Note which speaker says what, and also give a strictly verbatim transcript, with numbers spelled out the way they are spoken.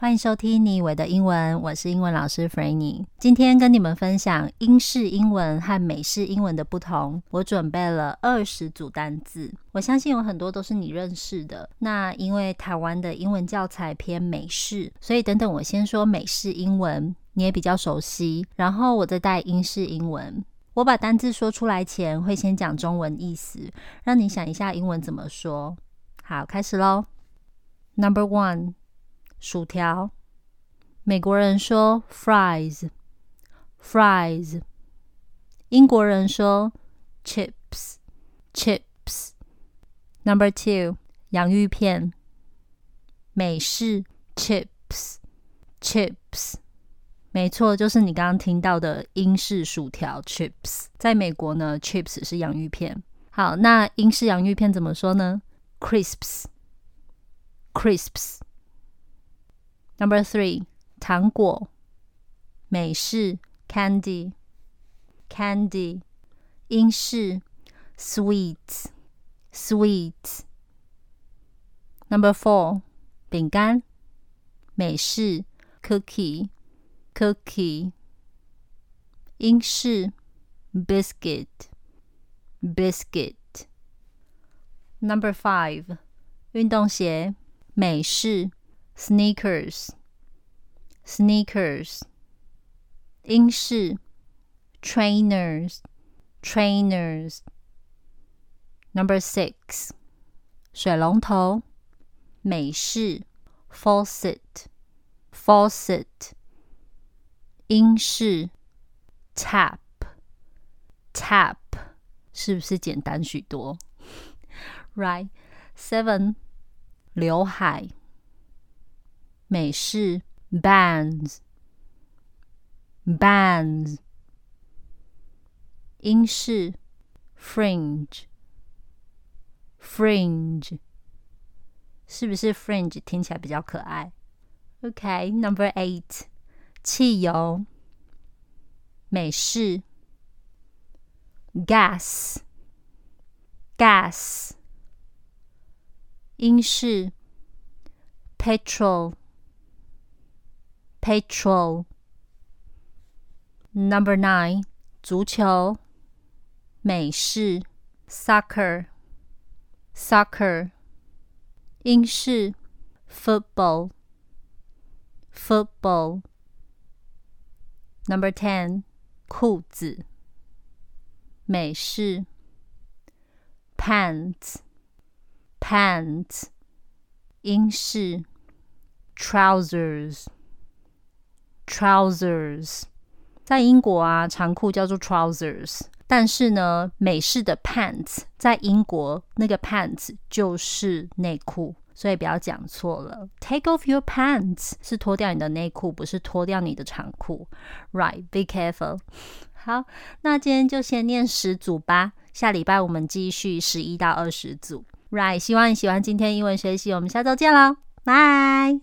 Speaker 1: 歡迎收聽你以為的英文，我是英文老師 Frannie。今天跟你們分享英式英文和美式英文的不同。我準備了二十組單字，我相信有很多都是你認識的。那因為台灣的英文教材偏美式，所以等等我先說美式英文，你也比較熟悉，然後我再帶英式英文。我把單字說出來前，會先講中文意思，讓你想一下英文怎麼說。好，開始咯。Number one， 薯條。美國人說 fries fries， 英國人說 chips chips。Number two， 洋芋片。美式 chips chips， 沒錯，就是你剛剛聽到的英式薯條 chips。在美國呢 chips 是洋芋片。好，那英式洋芋片怎麼說呢？ crisps crisps。 Number three， 糖果。美式 candy candy， 英式 sweets sweets。 Number four， 餅乾。美式 cookie cookie， 英式 biscuit biscuit。 Number five， 運動鞋。美式 sneakers sneakers， 英式 trainers trainers。 Number six， 水龍頭。美式 faucet faucet， 英式 tap tap， 是不是簡單許多？ Right。 Seven， 劉海。美式 bands bands， 英式 fringe fringe， 是不是 fringe 聽起來比較可愛？ OK。 Number eight， 汽油。美式 gas gas， 英式 petrol petrol。 Number nine， 足球。美式 soccer soccer， 英式 football football。 Number ten， 褲子。美式 pants pants， 英式 trousers trousers。 在英國啊，長褲叫做 trousers， 但是呢，美式的 pants 在英國那個 pants 就是內褲，所以不要講錯了。 Take off your pants 是脫掉你的內褲，不是脫掉你的長褲。 Right， be careful。 好，那今天就先念十組吧，下禮拜我們繼續十一到二十組。Right， 希望你喜歡今天英文學習，我們下週見囉，拜。